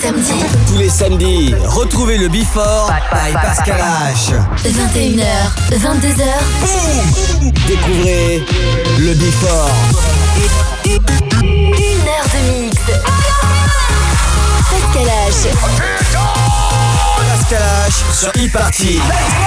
samedis. Tous les samedis, retrouvez le Before by Pascal H. 21h, 22h. Boum! Découvrez le Before. 1 heure de mix. Pascal H. Pascal H sur e-party.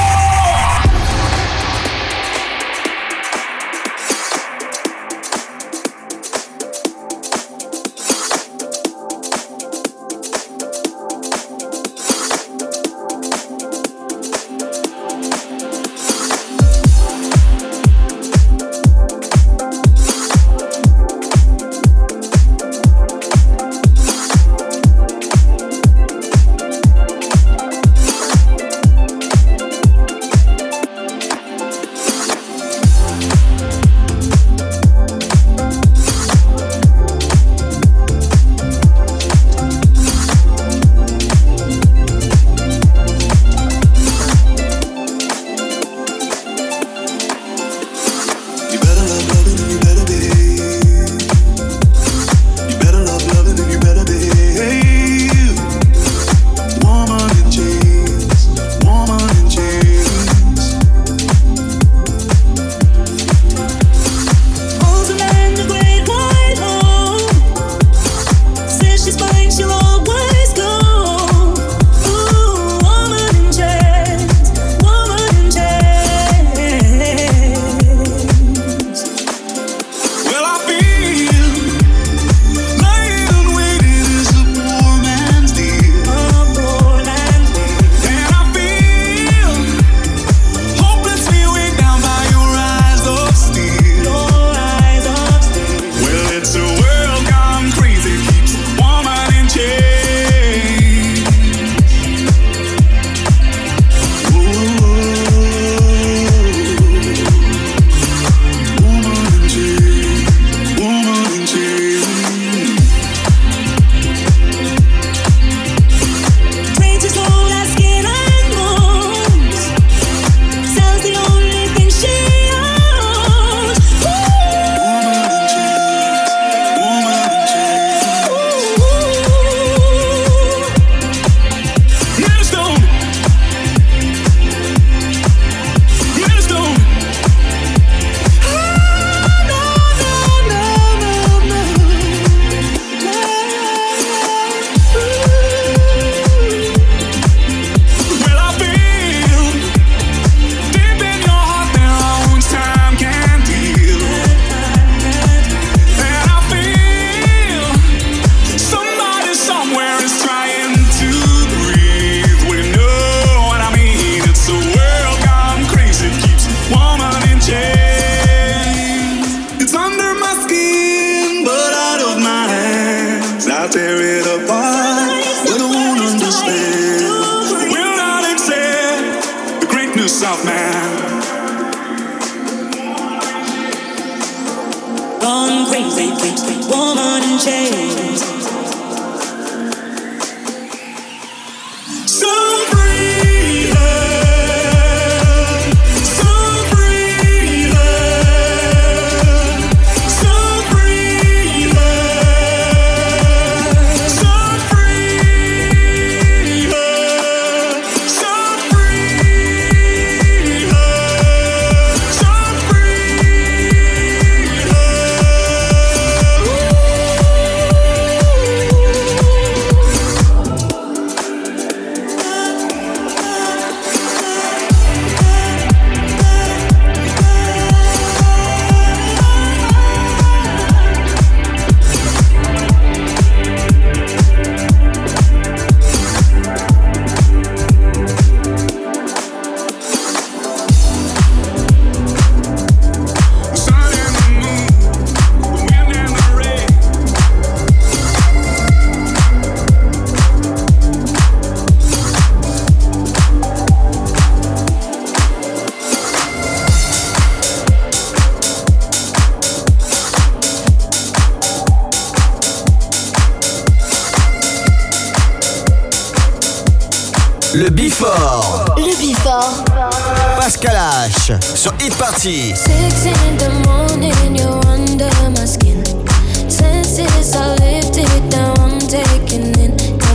Le Before. Le Before. Pascal H sur Hit Party. 6 in the morning, you're under my skin. Senses are lifted, now I'm taking in. Tell me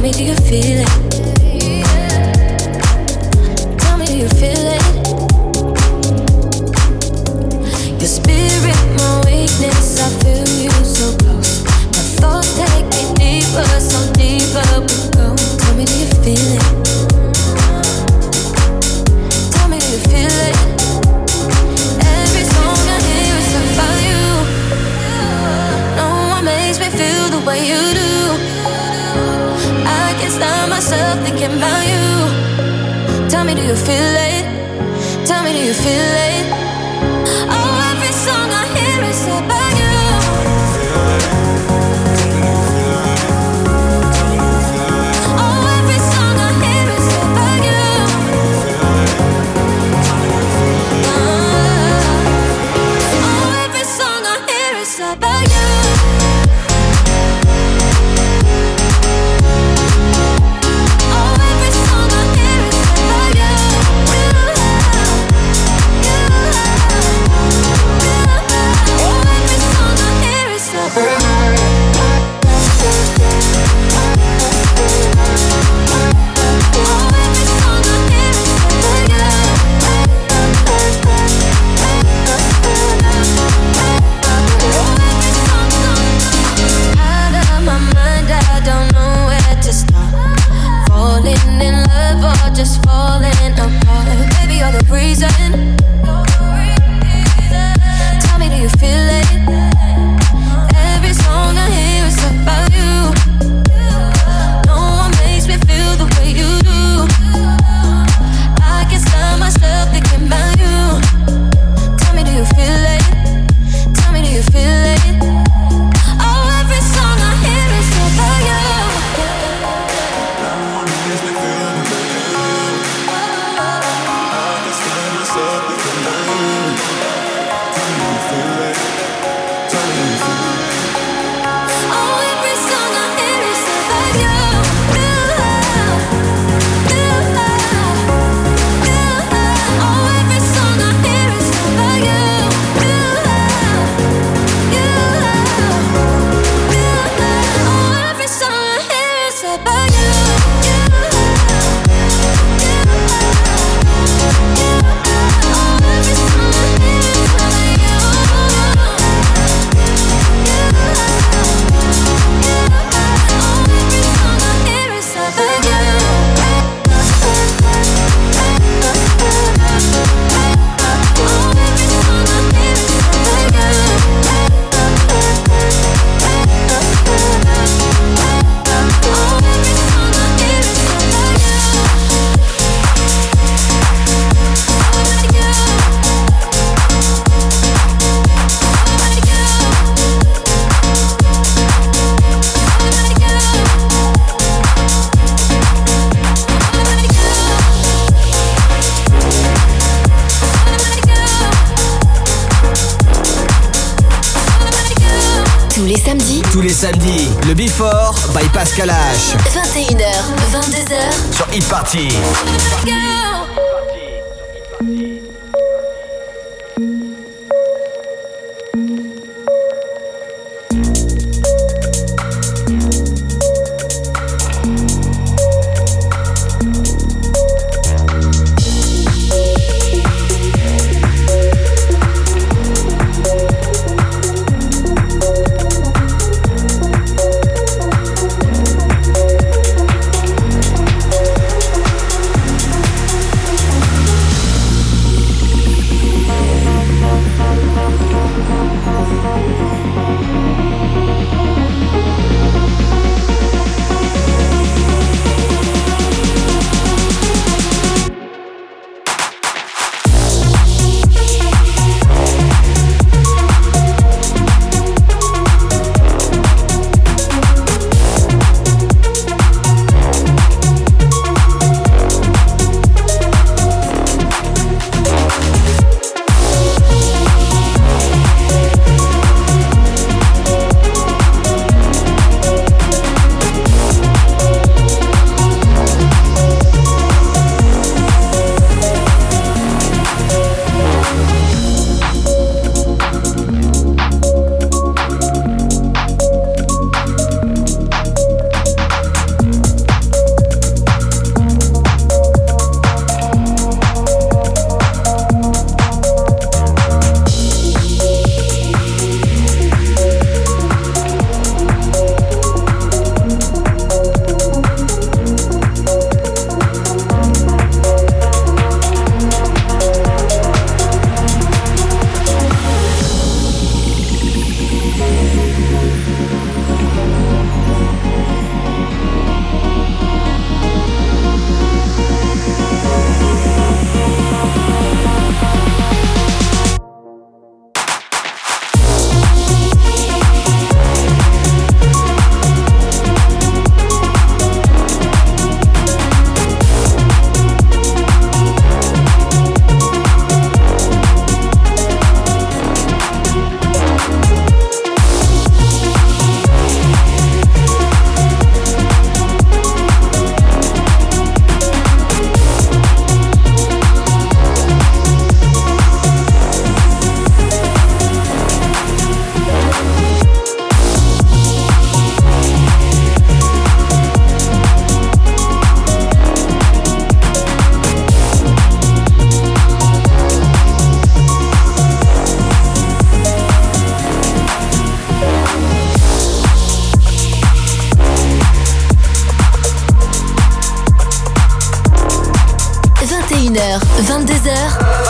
me, do you feel it? Tell me, do you feel it? Your spirit, my weakness, I feel you so close. My thoughts take me deeper, so deeper we go. Tell me, do you feel it? Tell me, do you feel it? Every song I hear is about you. No one makes me feel the way you do. I can't stop myself thinking about you. Tell me, do you feel it? Tell me, do you feel it? Oh, every song I hear is about you. Oh, every song I hear is about you. Oh, every song I hear is about you. Just falling apart. Baby, you're the reason. Tell me, do you feel it? Every song I hear is about you. No one makes me feel the way you do. I can't stop myself thinking about you. Tell me, do you feel it? Tell me, do you feel it? Oh, every song I hear is about you. Tous les samedis, le Before by Pascal H. 21h, 22h sur Hit Party.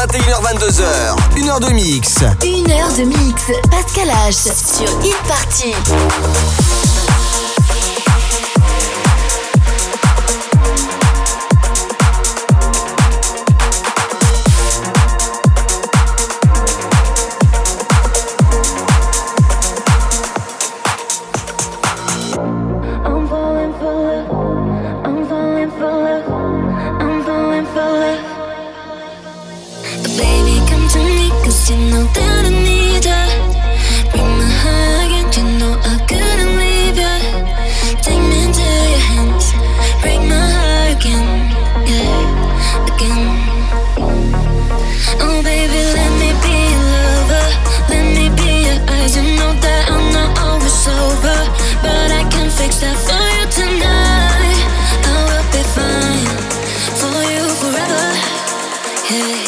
21h22h, 1h de mix. 1h de mix, Pascal H sur Hit Party. You know that I need ya. Bring my heart again. You know I couldn't leave ya. Take me into your hands. Break my heart again. Yeah, again. Oh baby, let me be your lover. Let me be your eyes. You know that I'm not always sober, but I can fix that for you tonight. I will be fine for you forever. Yeah.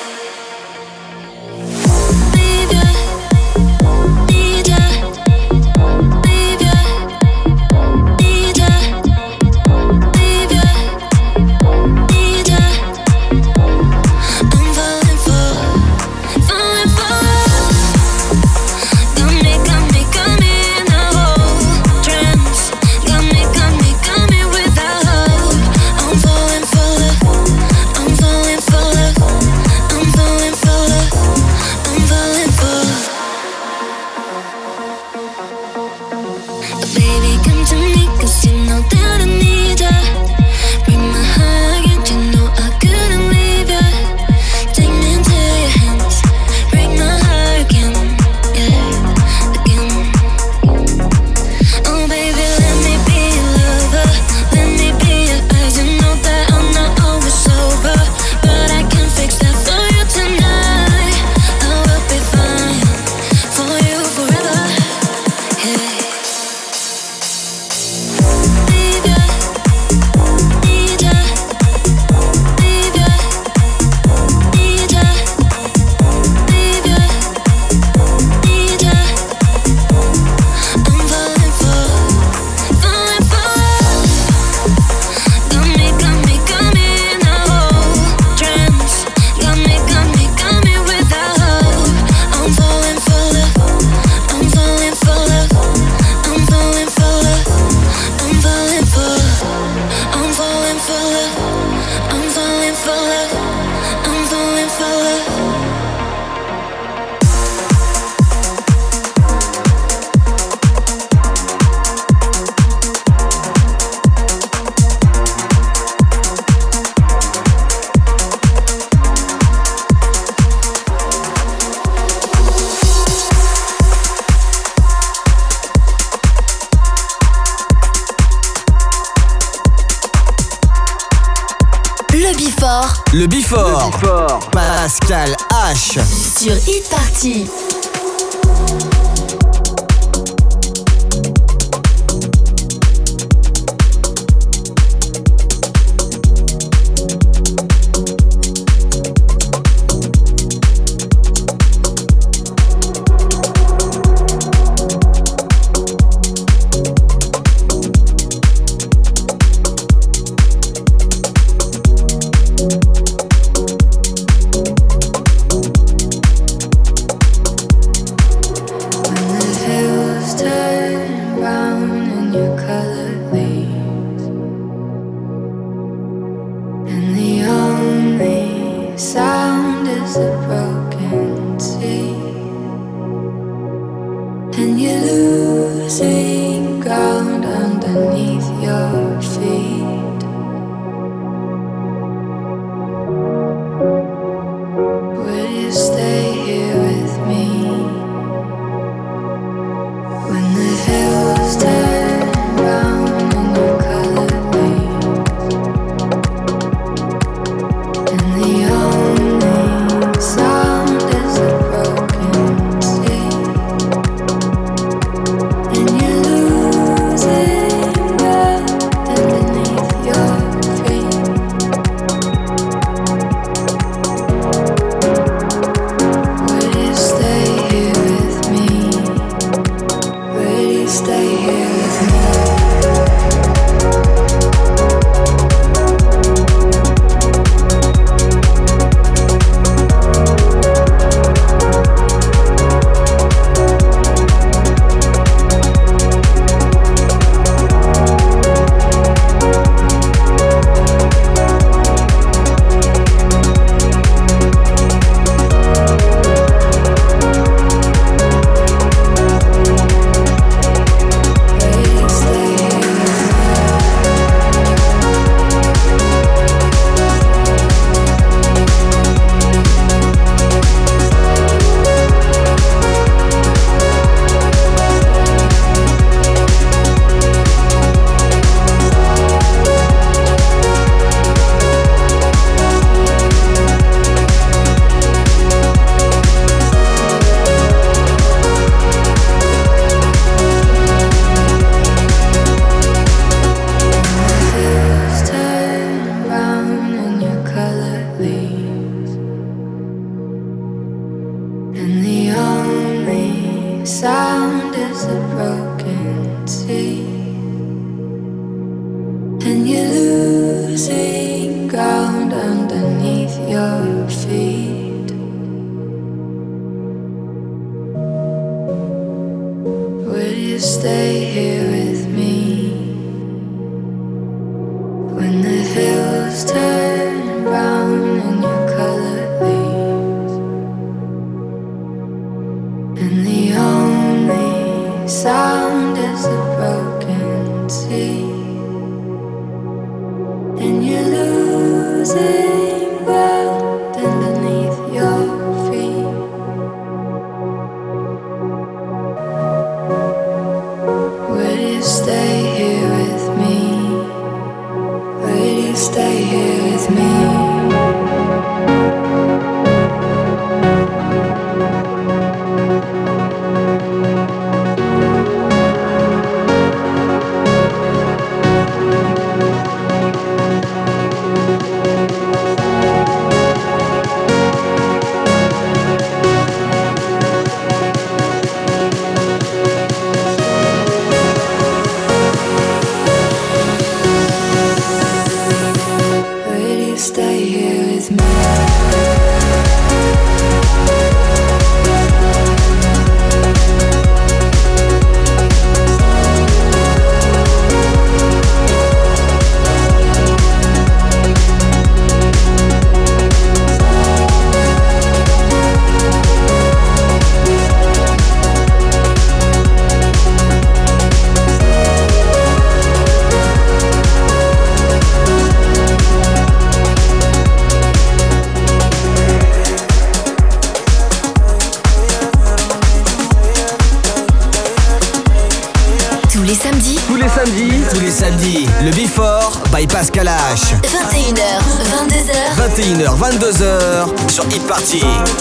Le Before. Pascal H sur Hit Party. And the only sound is a broken sea. And you're losing ground underneath your feet. Will you stay here with me when the hills turn brown and your colored leaves? And the only sound is a broken sea. And you're losing ground underneath your feet. Will you stay here with me? Will you stay here with me? Stay here with me. Tous les samedis, le Before by Pascal H. 21h, 22h. 21h, 22h sur Hit Party.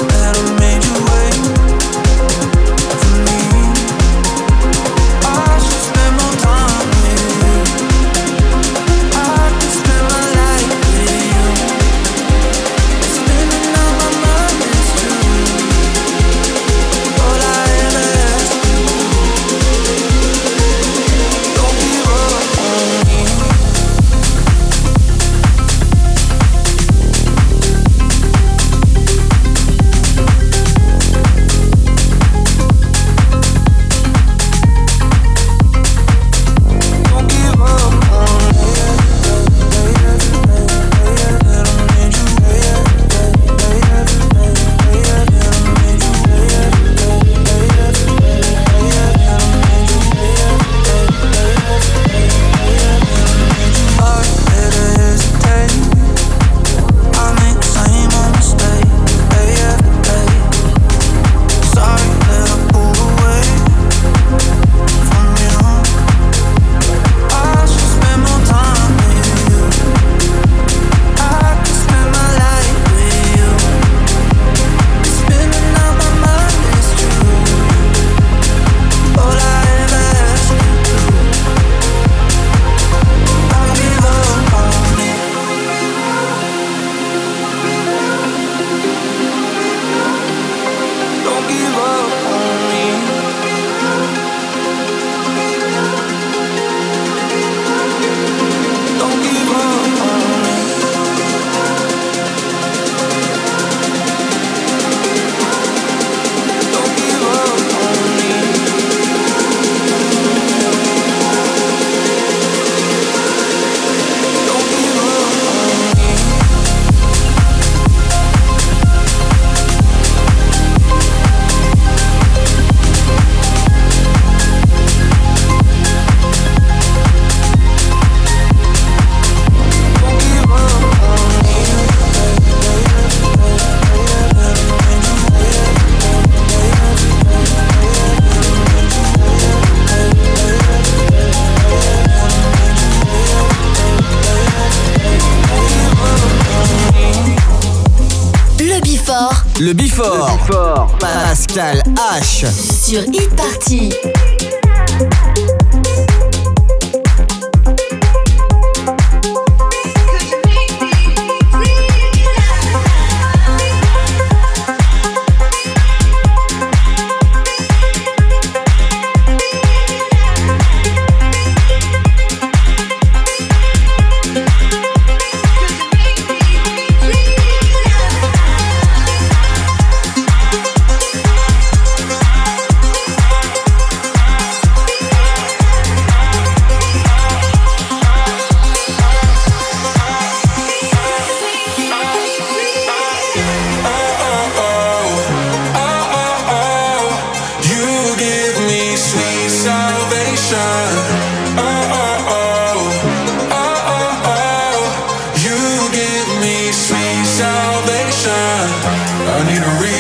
Le Before. Pascal H. Sur Hit Party.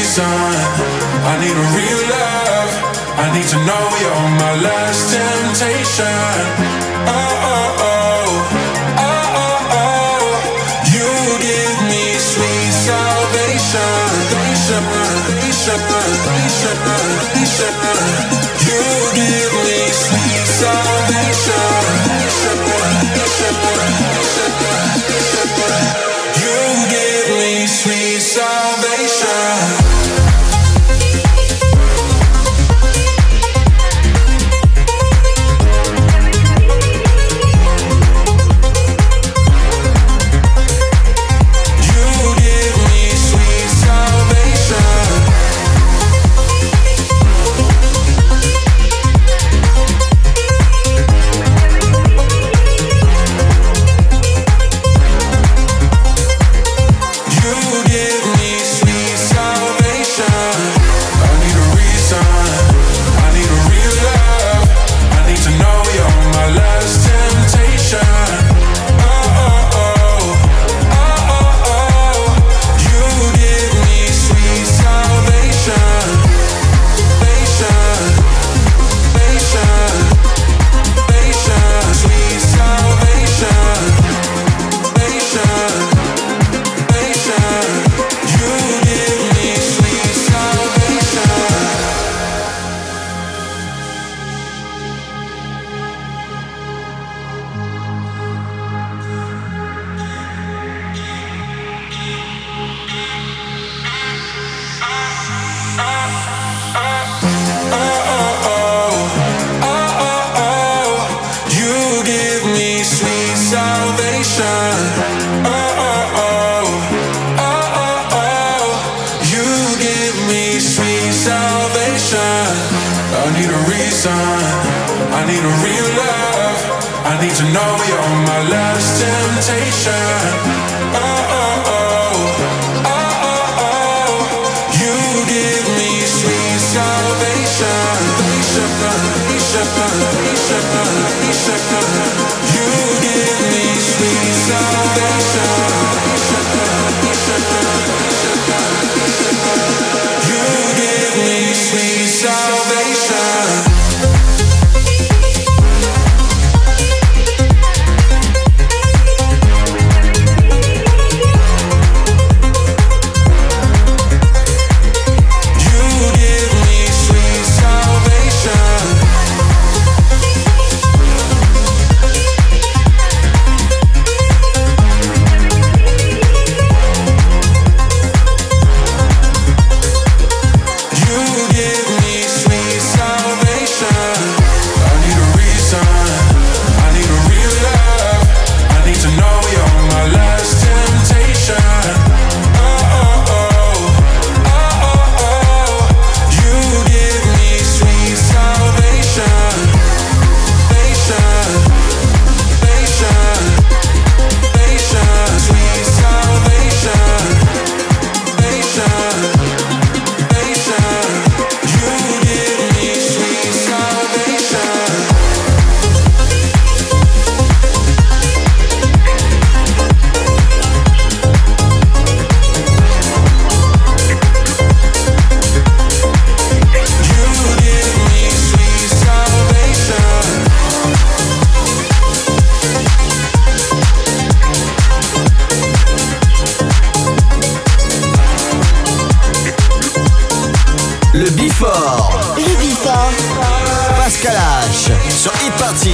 reason. I need a real love. I need to know you're my last temptation. Oh, oh, oh. Oh, oh, oh. You give me sweet salvation. You give me sweet salvation. You give me sweet salvation. Pascal H sur Hit Party.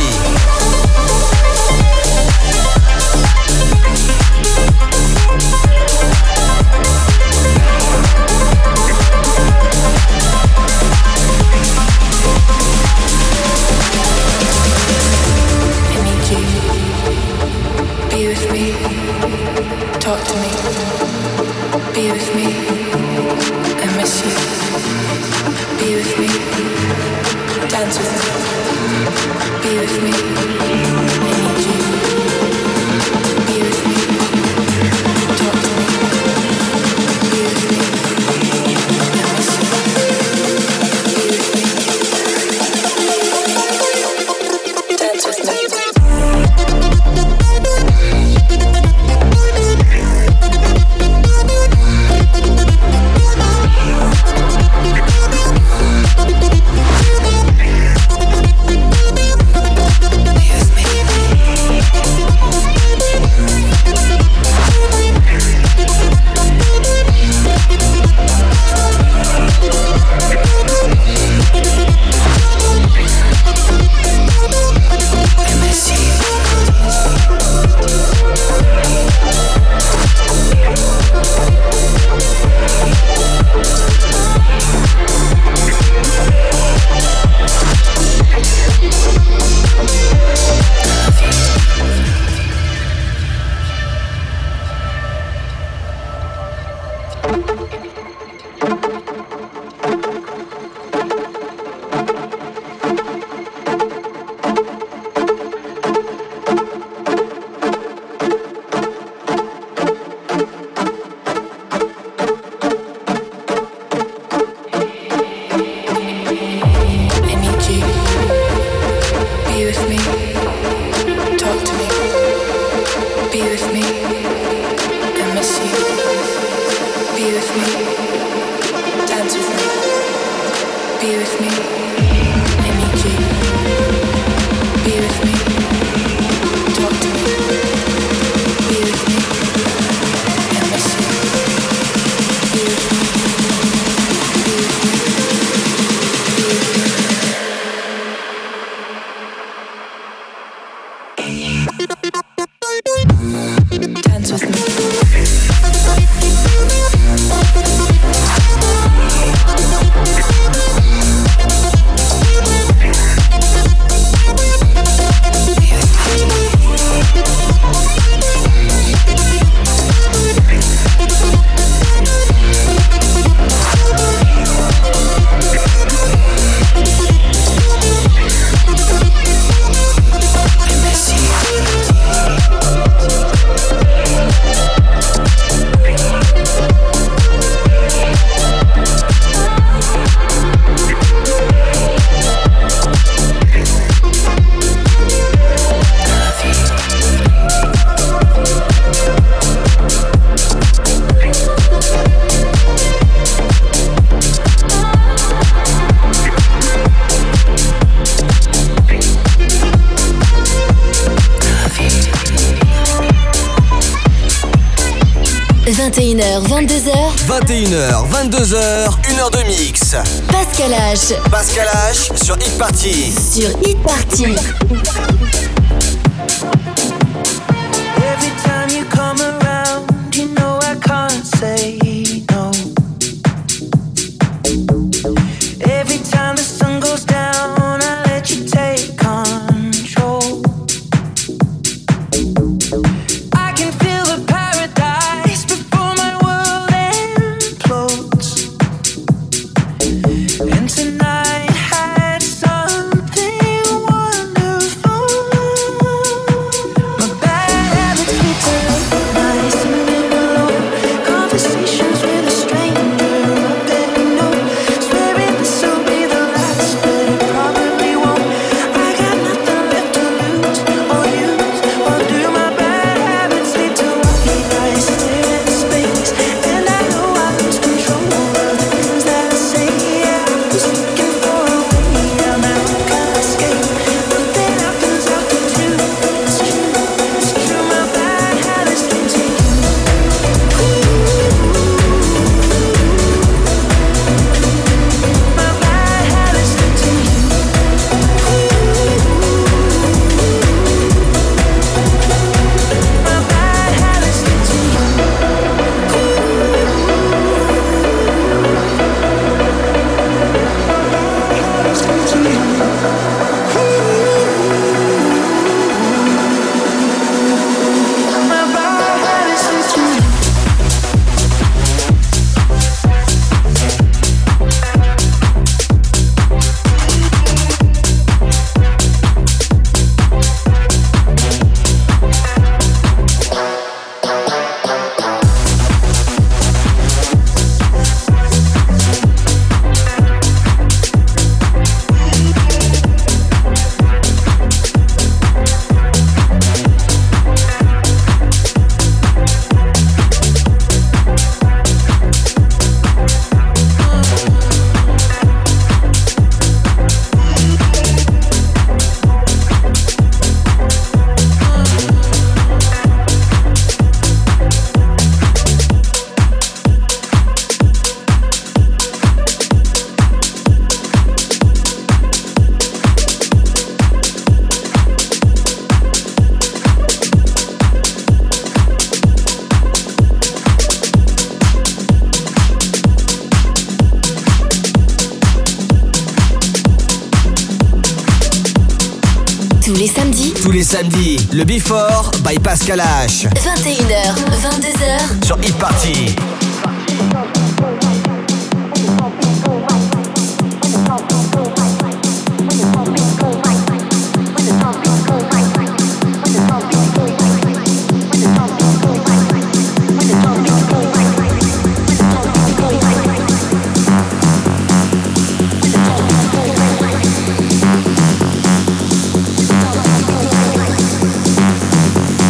Be with me, talk to me, be with me, I miss you, be with me, dance with me, be with me, I need you, be with me, talk to me, be with me, I miss you, be with me, dance with me. 21h, 22h. 21h, 22h, 1h de mix. Pascal H. Pascal H sur Hit Party. Sur Hit Party. Every time you come around, you know I can't say no. Every time the sun goes down, I let you take control. I can feel the paradise before my world implodes. And tonight had something wonderful. My bad habits lead to late nights and being alone. Conversations with a stranger, I bet you know. Swearing this will be the last, but it probably won't. I got nothing left to lose or use or do. My bad habits lead to white lies, stare at space, and I know I lose control of the things that I say. Yeah, I was looking for a way out, now I can't escape. Nothing happens after two. It's true, it's true. My bad habits lead to you. My bad habits lead to you. My bad habits lead to you. My bad habits lead to you. Tous les samedis, le Before by Pascal H 21h, 22h. sur Hit Party.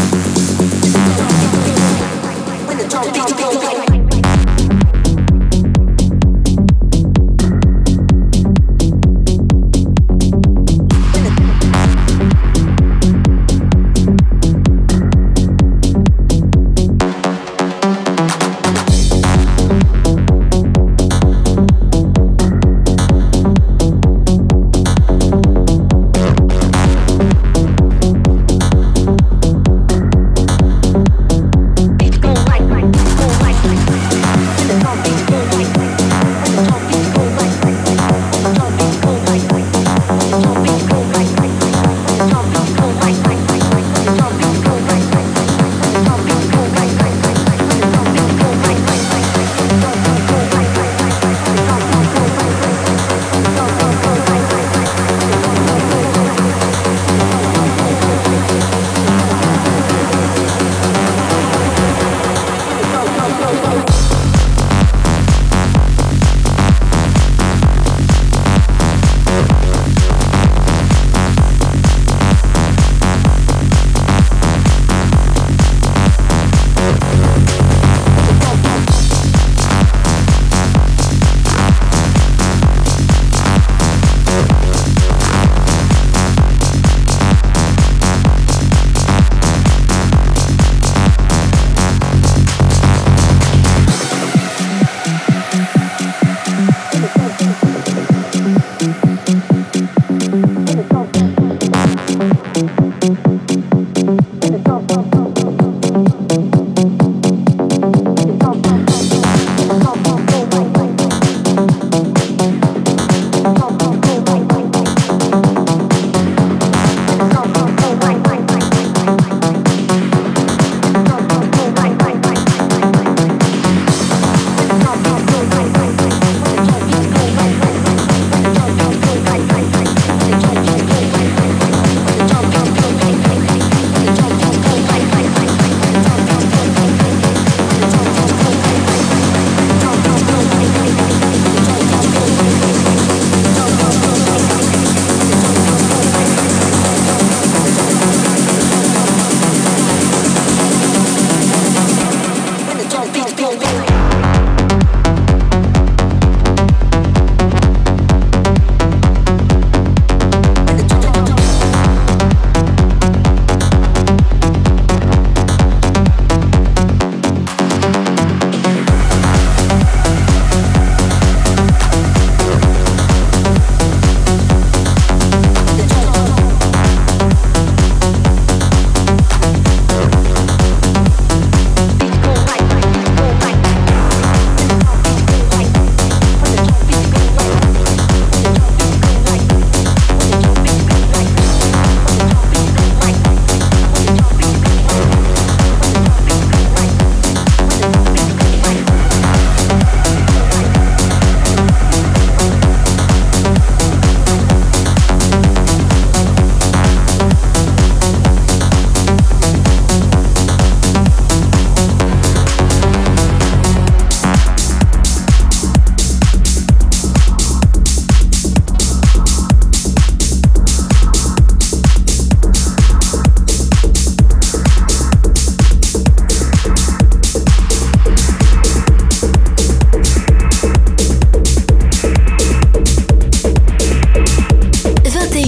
When the drum beats go,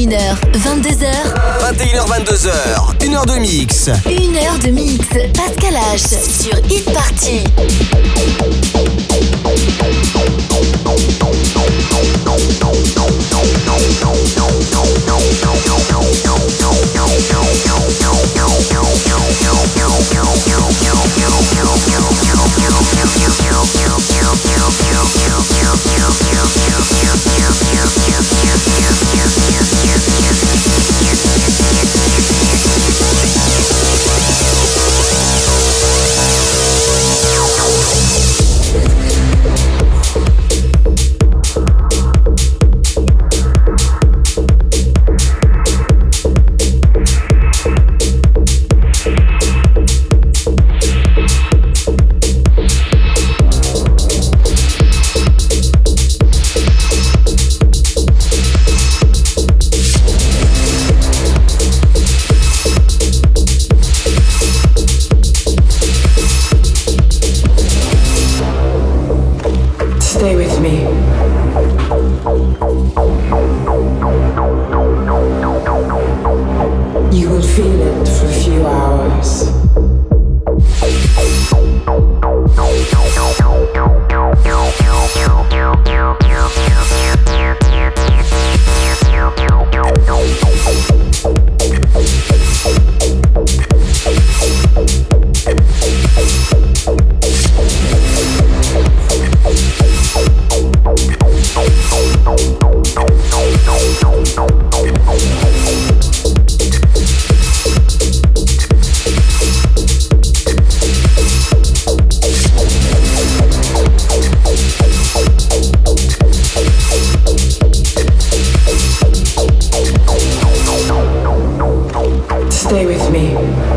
21h, 22h. 21h, 22h, 1h de mix. 1h de mix. Pascal H sur Hit Party. Stay with me. You will feel it for a few hours. Stay with me.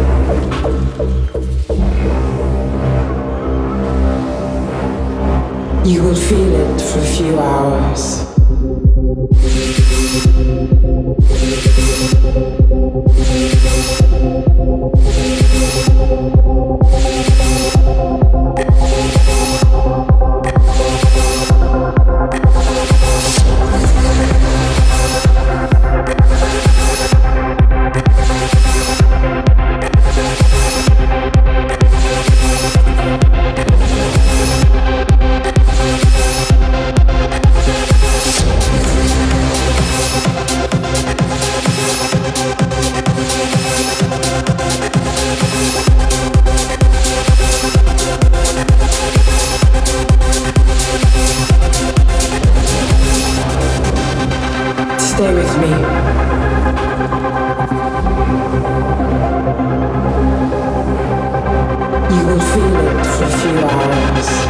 You will feel it for a few hours. Stay with me. You will feel it for a few hours.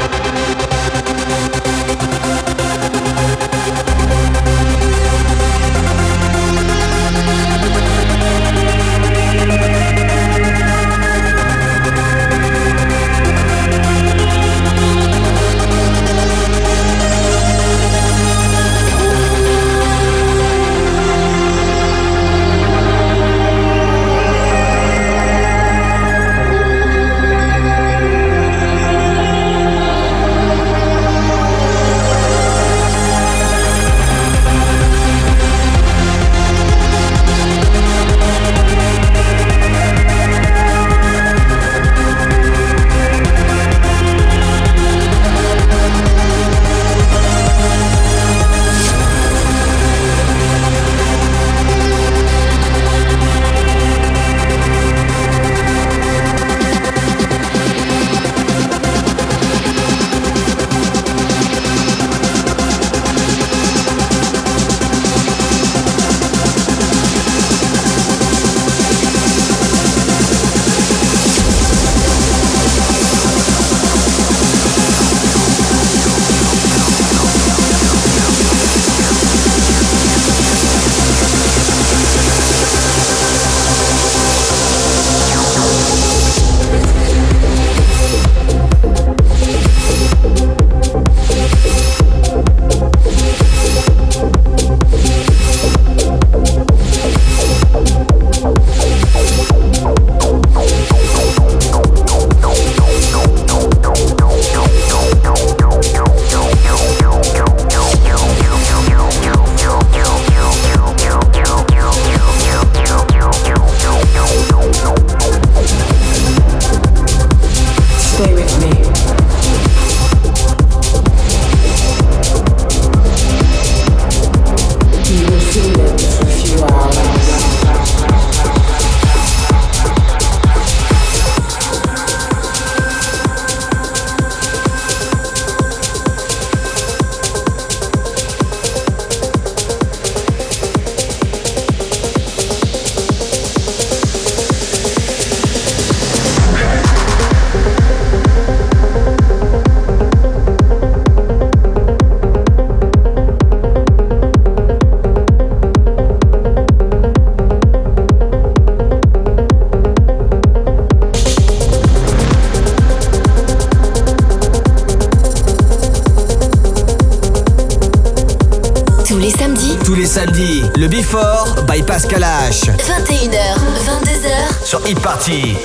Tous les samedis, le Before by Pascal H. 21h, 22h, sur Hit Party.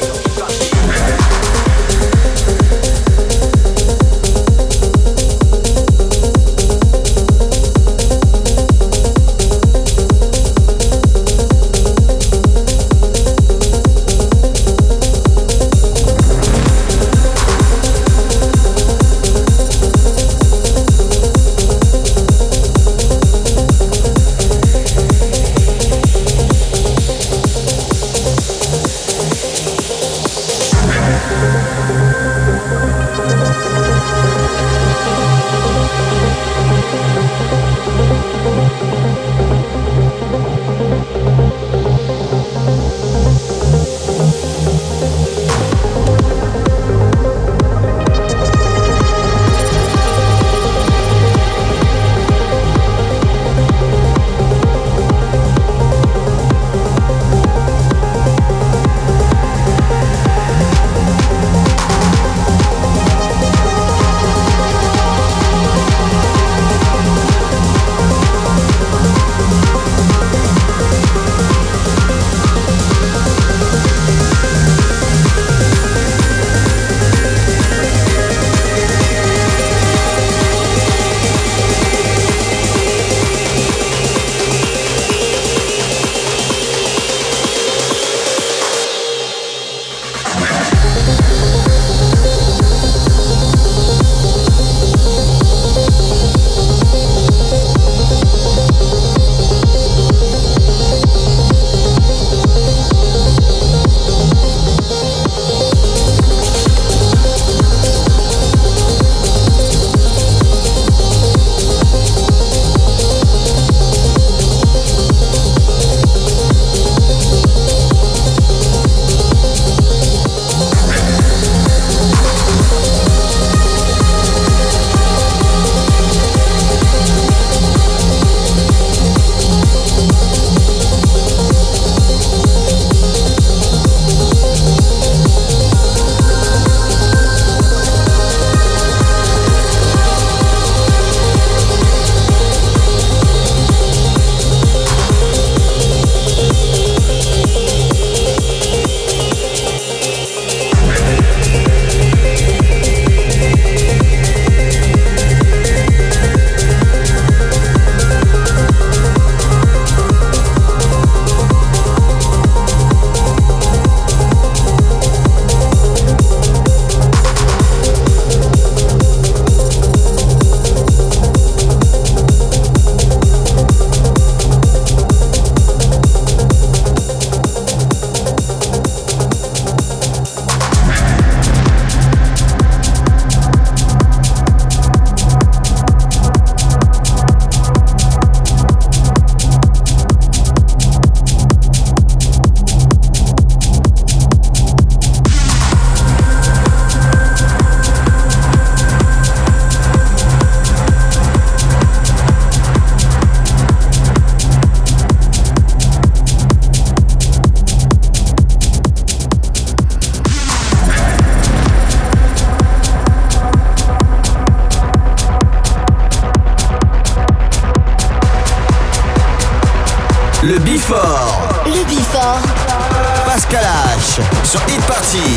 Le Before. le Before. Pascal H. Sur Hit Party.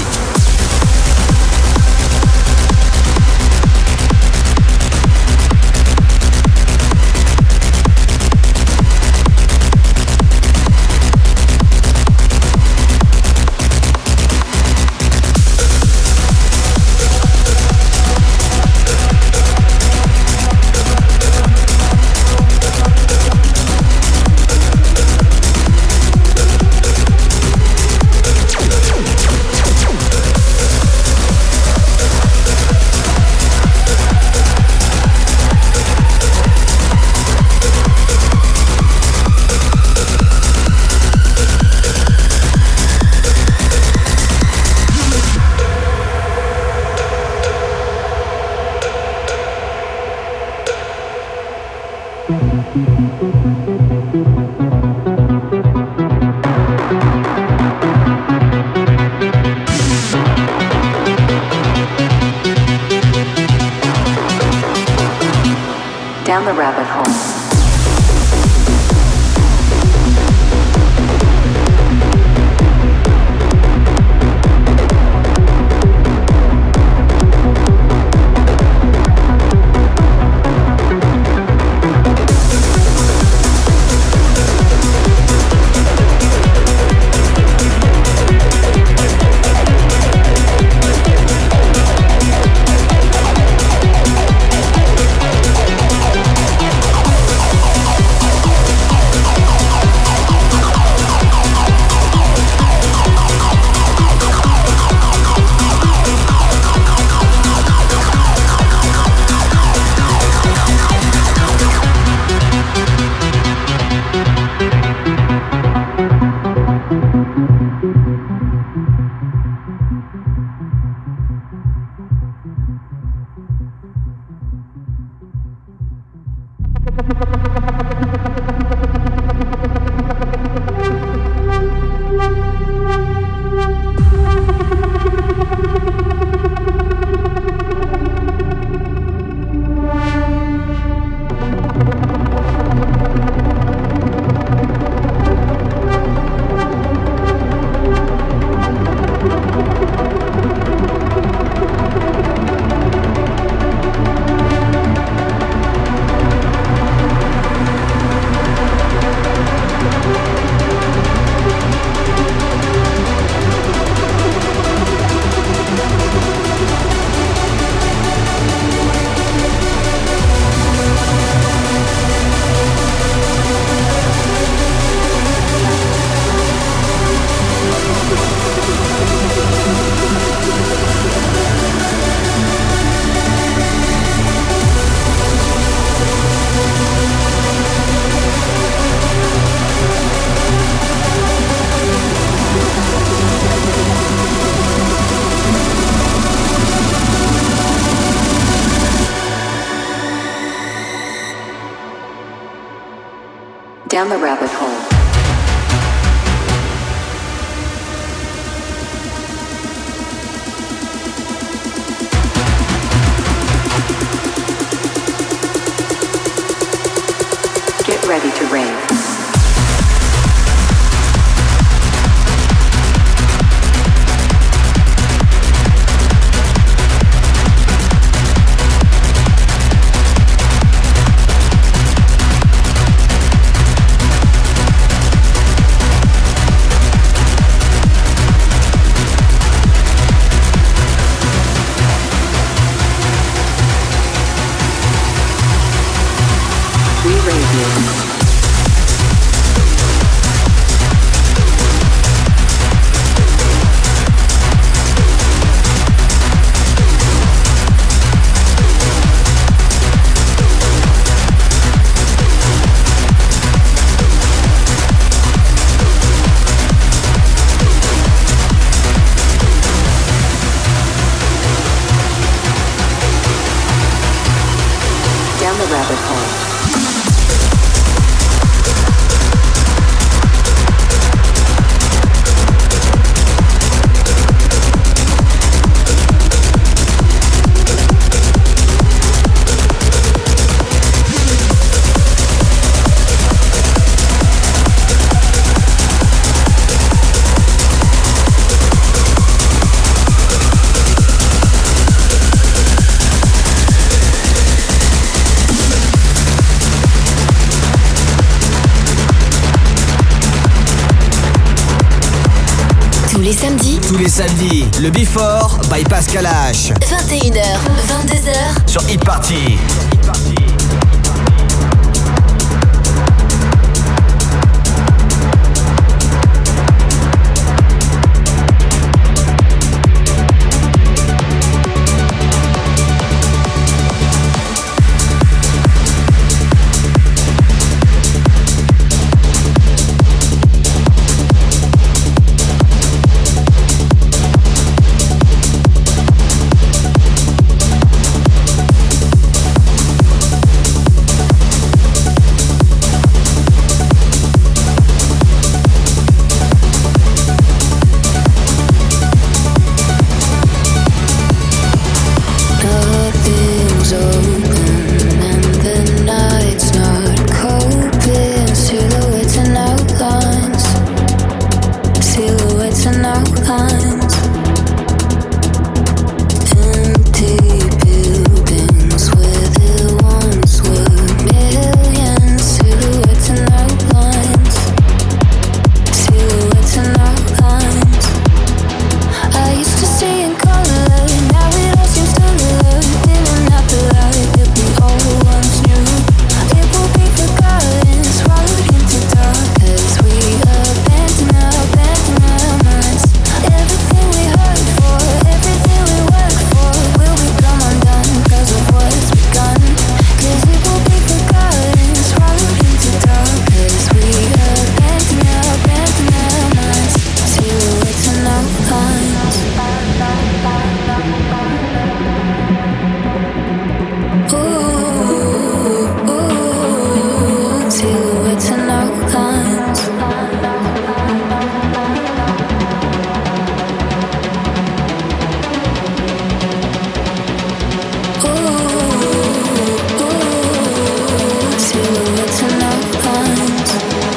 Down the rabbit hole. Down the rabbit hole. Get ready to rave. Tous les samedis, le Before by Pascal H. 21h, 22h sur Hit Party. silhouettes and outlines. Silhouettes and outlines.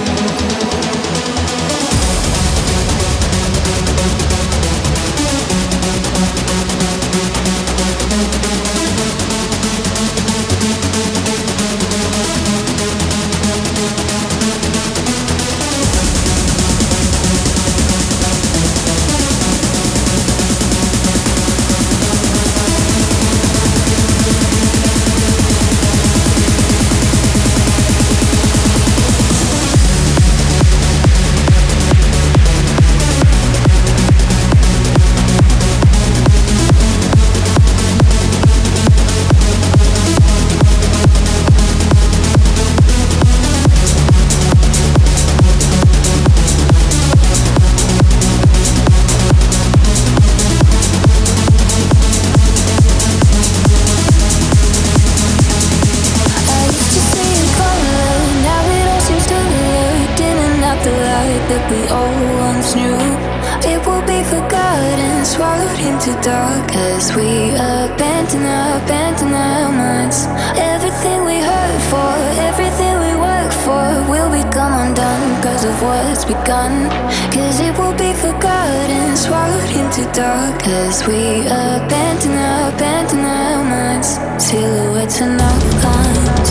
That we all once knew, it will be forgotten, swallowed into dark as we abandon our minds. Everything we heard for, everything we worked for will become undone because of what's begun. Cause it will be forgotten, swallowed into dark as we abandon our minds. Silhouettes and outlines.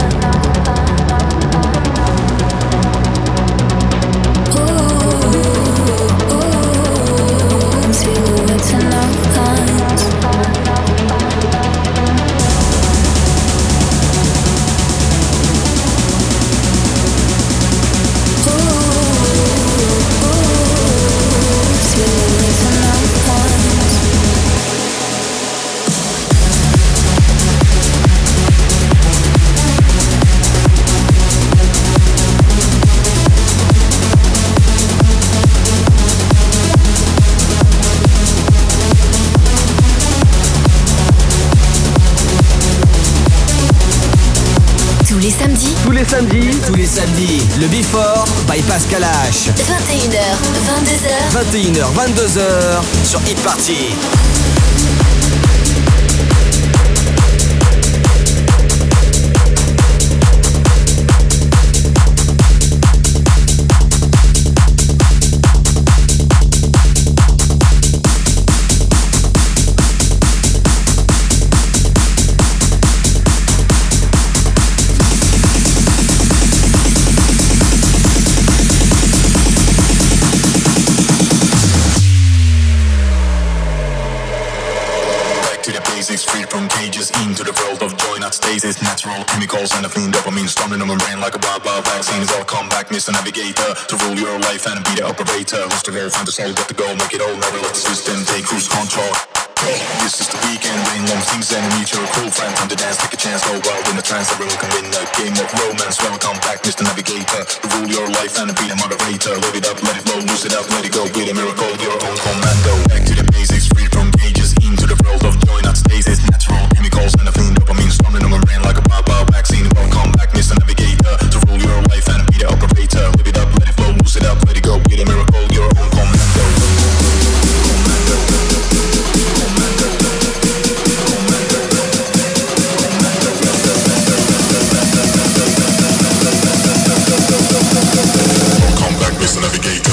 Silhouettes and outlines. Silhouettes and outlines. Tous les samedis, le Before by Pascal H. 21h, 22h. 21h, 22h sur Hit Party. Stasis, natural chemicals and a clean dopamine storming on my brain like a wild vaccine. Welcome back, Mr. Navigator, to rule your life and be the operator. Lost the goal, find the soul, get the goal, make it all, never let the system take cruise control. This is the weekend, rain long things and meet your cool friend. Time to dance, take a chance, go wild in a trance. Everyone can win a game of romance. Welcome back, Mr. Navigator, to rule your life and be the moderator. Live it up, let it flow, lose it up, let it go. Be the miracle, your own commando. Back to the basics, free from cages, into the world of joy, not stasis. Natural chemicals and a clean dopamine storming on my brain like a wild vaccine. Welcome back, Mr. Navigator, to rule your life and be the operator. Live it up, let it flow, lose it up, let it go. Be the miracle, your own commando. Welcome back, Mr. Navigator.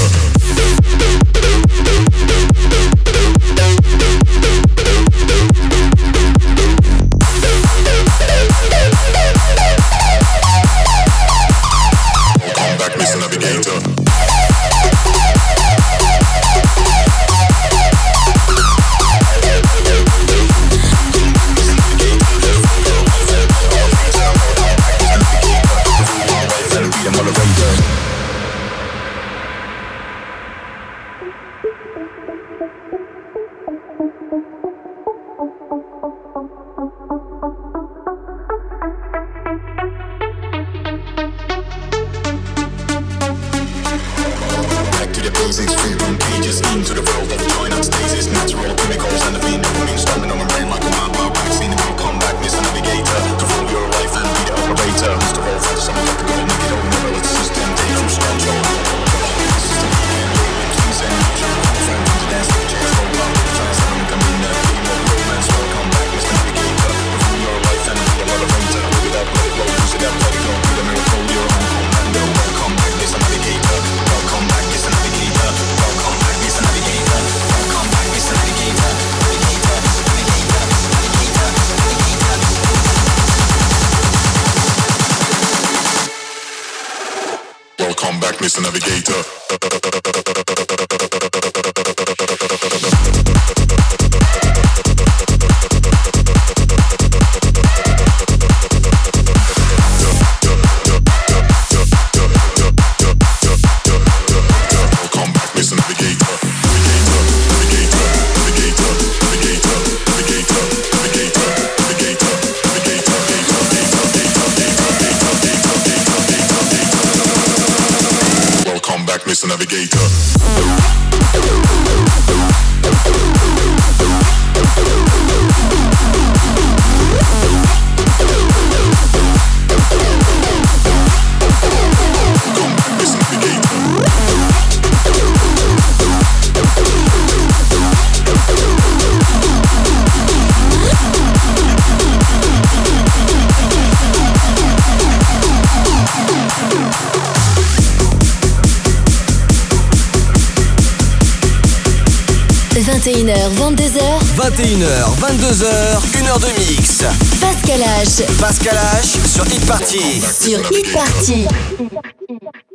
Mr. Wolf, something like the goal, make it Welcome back, Mr. Navigator. Mr. Navigator. – 21h, 22h, 1h de mix. Pascal H. Pascal H sur Hit Party. Sur Hit Party.